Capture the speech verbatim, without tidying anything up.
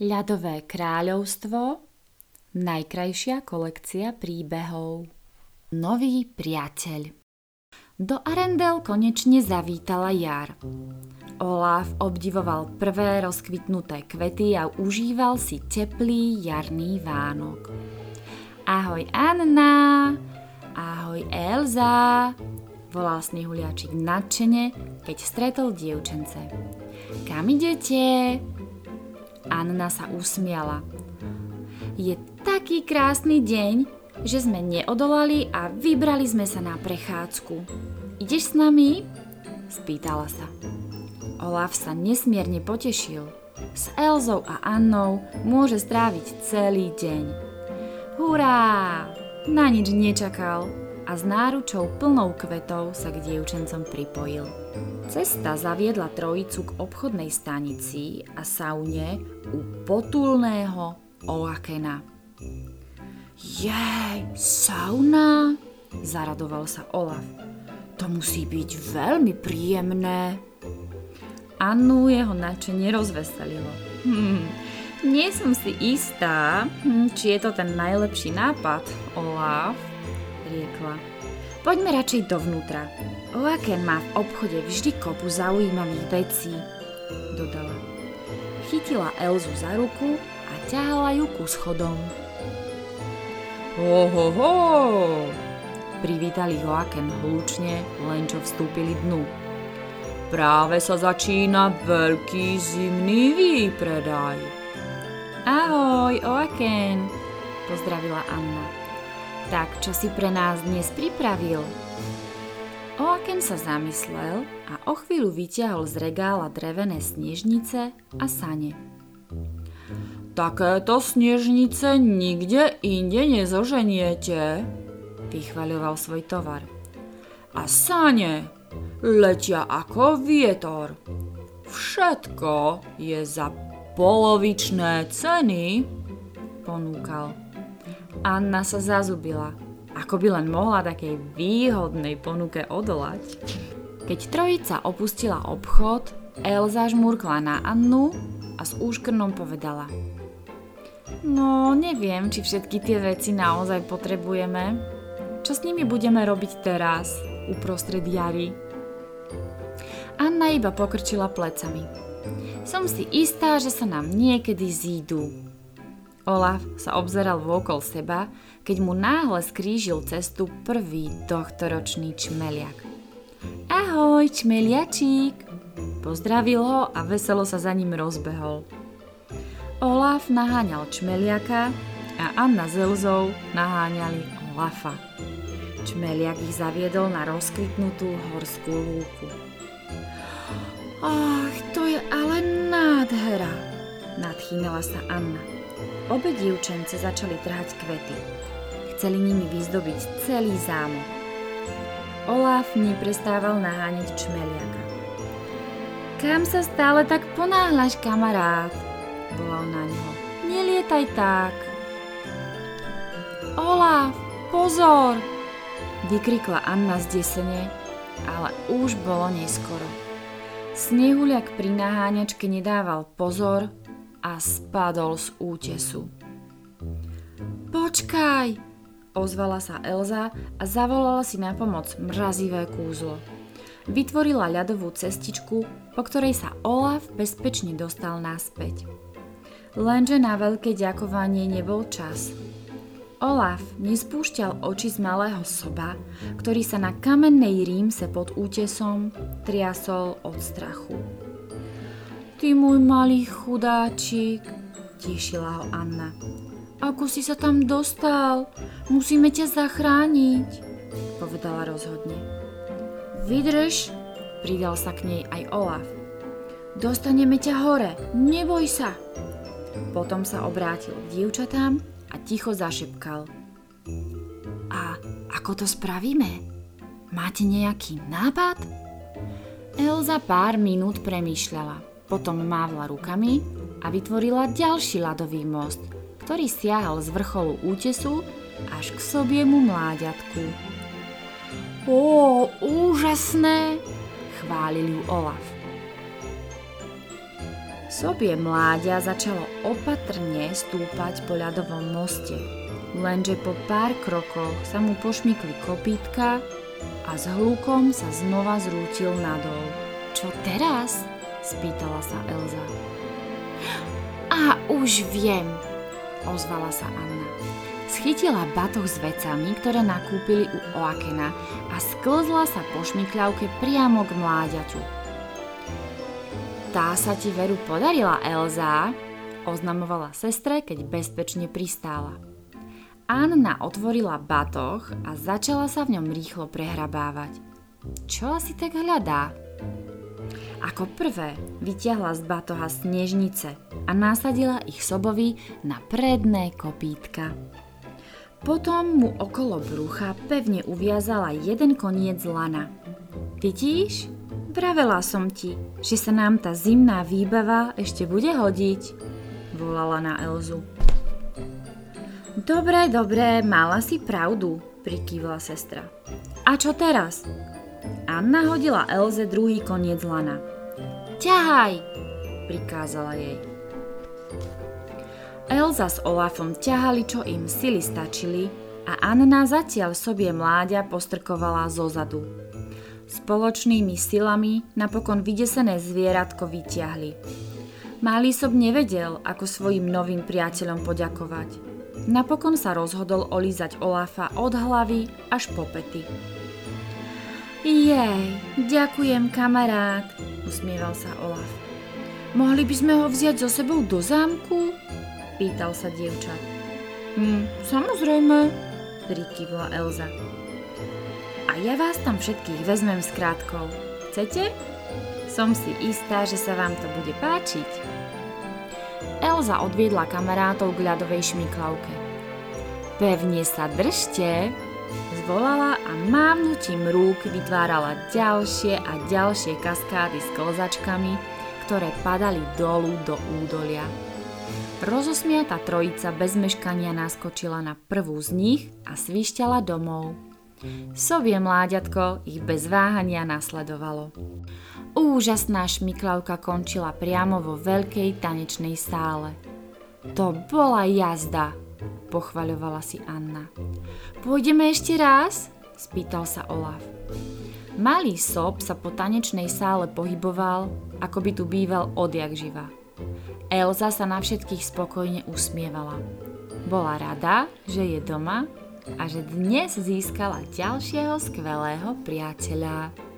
Ľadové kráľovstvo, najkrajšia kolekcia príbehov. Nový priateľ. Do Arendelle konečne zavítala jar. Olaf obdivoval prvé rozkvitnuté kvety a užíval si teplý jarný vánok. Ahoj Anna, ahoj Elza, volal Snehuliačik nadšene, keď stretol dievčence. Kam idete? Anna sa usmiala. Je taký krásny deň, že sme neodolali a vybrali sme sa na prechádzku. Ideš s nami? Spýtala sa. Olaf sa nesmierne potešil. S Elzou a Annou môže stráviť celý deň. Hurá! Na nič nečakal a s náručou plnou kvetov sa k dievčencom pripojil. Cesta zaviedla trojicu k obchodnej stanici a saune u potulného Oakena. Jej, sauna? Zaradoval sa Olaf. To musí byť veľmi príjemné. Annu jeho nadšenie rozveselilo. Hm, nie som si istá, hm, či je to ten najlepší nápad, Olaf, riekla. Poďme radšej dovnútra. Oaken má v obchode vždy kopu zaujímavých vecí, dodala. Chytila Elzu za ruku a ťahala ju ku schodom. Ho, ho, ho! Privítali Oaken hlučne, len čo vstúpili dnu. Práve sa začína veľký zimný výpredaj. Ahoj, Oaken, pozdravila Anna. Tak, čo si pre nás dnes pripravil? Oaken sa zamyslel a o chvíľu vyťahol z regála drevené snežnice a sane. Takéto snežnice nikde inde nezoženiete, vychvaľoval svoj tovar. A sane letia ako vietor. Všetko je za polovičné ceny, ponúkal. Anna sa zazubila, ako by len mohla takej výhodnej ponuke odolať. Keď trojica opustila obchod, Elza žmurkla na Annu a s úškrnom povedala. No, neviem, či všetky tie veci naozaj potrebujeme. Čo s nimi budeme robiť teraz, uprostred jary? Anna iba pokrčila plecami. Som si istá, že sa nám niekedy zídu. Olaf sa obzeral vôkol seba, keď mu náhle skrížil cestu prvý tohtoročný čmeliak. Ahoj, čmeliačík! Pozdravil ho a veselo sa za ním rozbehol. Olaf naháňal čmeliaka a Anna s Elzou naháňali Olafa. Čmeliak ich zaviedol na rozkvitnutú horskú lúku. Ach, to je ale nádhera, nadchýnala sa Anna. Obe dievčence začali trhať kvety. Chceli nimi vyzdobiť celý zámok. Olaf neprestával naháňať čmeliaka. Kam sa stále tak ponáhľaš, kamarát? Volal na neho. Nelietaj tak. Olaf, pozor! Vykrikla Anna zdesene, ale už bolo neskoro. Snehuliak pri naháňačke nedával pozor a spadol z útesu. Počkaj, ozvala sa Elza a zavolala si na pomoc mrazivé kúzlo. Vytvorila ľadovú cestičku, po ktorej sa Olaf bezpečne dostal naspäť. Lenže na veľké ďakovanie nebol čas. Olaf nespúšťal oči z malého soba, ktorý sa na kamennej rímse pod útesom triasol od strachu. Ty môj malý chudáčik, tíšila ho Anna. Ako si sa tam dostal? Musíme ťa zachrániť, povedala rozhodne. Vydrž, pridal sa k nej aj Olaf. Dostaneme ťa hore, neboj sa. Potom sa obrátil k dievčatám a ticho zašepkal. A ako to spravíme? Máte nejaký nápad? Elza pár minút premýšľala. Potom mávla rukami a vytvorila ďalší ľadový most, ktorý siahal z vrcholu útesu až k sobiemu mláďatku. Ó, úžasné, chválil ju Olaf. Sobie mláďa začalo opatrne stúpať po ľadovom moste, lenže po pár krokoch sa mu pošmykli kopítka a s hlukom sa znova zrútil nadol. Čo teraz? Spýtala sa Elza. A už viem, ozvala sa Anna. Schytila batoh s vecami, ktoré nakúpili u Oakena a sklzla sa po šmykľavke priamo k mláďaťu. Tá sa ti veru podarila, Elza, oznamovala sestre, keď bezpečne pristála. Anna otvorila batoh a začala sa v ňom rýchlo prehrabávať. Čo asi tak hľadá? Ako prvé vytiahla z batoha snežnice a nasadila ich sobovi na predné kopítka. Potom mu okolo brucha pevne uviazala jeden koniec lana. Vidíš? Vravela som ti, že sa nám tá zimná výbava ešte bude hodiť, volala na Elzu. Dobre, dobre, mala si pravdu, prikývla sestra. A čo teraz? Anna hodila Elze druhý koniec lana. Ťahaj, prikázala jej. Elza s Olafom ťahali, čo im sily stačili a Anna zatiaľ sobie mláďa postrkovala zozadu. Spoločnými silami napokon vydesené zvieratko vytiahli. Malý sob nevedel, ako svojim novým priateľom poďakovať. Napokon sa rozhodol olízať Olafa od hlavy až po pety. Jej, ďakujem, kamarát, usmieval sa Olaf. Mohli by sme ho vziať so sebou do zámku? Pýtal sa dievča. Hm, samozrejme, prikývla Elza. A ja vás tam všetkých vezmem s krátkou. Chcete? Som si istá, že sa vám to bude páčiť. Elza odviedla kamarátov k ľadovej šmyklavke. Pevne sa držte, zvolala a mávnutím rúk vytvárala ďalšie a ďalšie kaskády s klzačkami, ktoré padali dolu do údolia. Rozosmiatá trojica bez meškania naskočila na prvú z nich a svišťala domov. Sobie mláďatko ich bez váhania nasledovalo. Úžasná šmyklavka končila priamo vo veľkej tanečnej sále. To bola jazda, pochvaľovala si Anna. Pôjdeme ešte raz? Spýtal sa Olaf. Malý sob sa po tanečnej sále pohyboval, ako by tu býval odjak živa. Elza sa na všetkých spokojne usmievala. Bola rada, že je doma a že dnes získala ďalšieho skvelého priateľa.